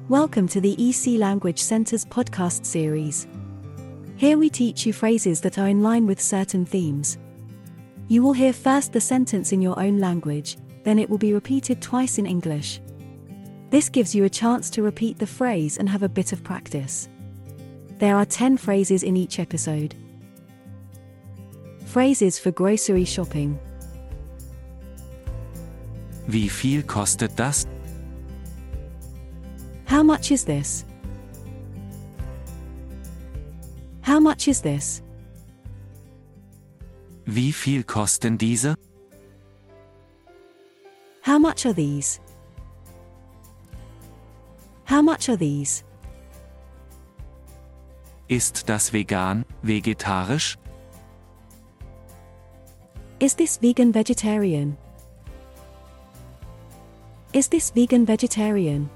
Welcome to the EC Language Center's podcast series. Here we teach you phrases that are in line with certain themes. You will hear first the sentence in your own language, then it will be repeated twice in English. This gives you a chance to repeat the phrase and have a bit of practice. There are 10 phrases in each episode. Phrases for grocery shopping. Wie viel kostet das? How much is this? How much is this? Wie viel kosten diese? How much are these? How much are these? Ist das vegan, vegetarisch? Is this vegan vegetarian? Is this vegan vegetarian?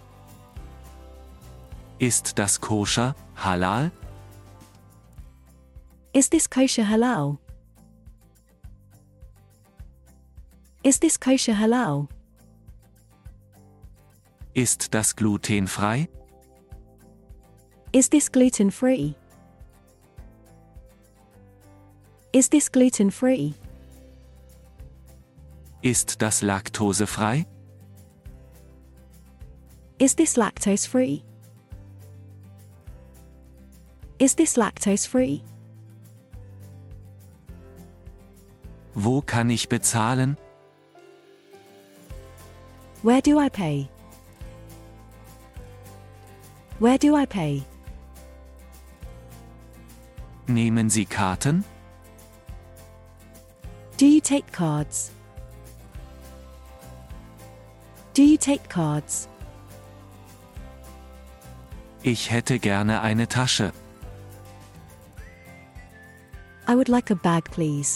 Ist das koscher, halal? Is this kosher halal? Is this kosher halal? Ist das glutenfrei? Is this gluten-free? Is this gluten-free? Ist das laktosefrei? Is this lactose-free? Is this lactose-free? Wo kann ich bezahlen? Where do I pay? Where do I pay? Nehmen Sie Karten? Do you take cards? Do you take cards? Ich hätte gerne eine Tasche. I would like a bag, please.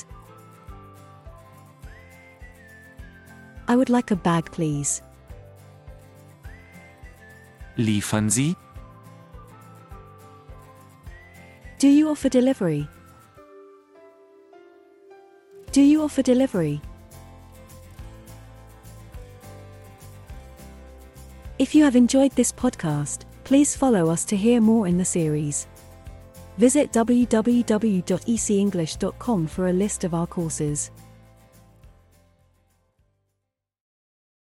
I would like a bag, please. Liefern Sie? Do you offer delivery? Do you offer delivery? If you have enjoyed this podcast, please follow us to hear more in the series. Visit www.ecenglish.com for a list of our courses.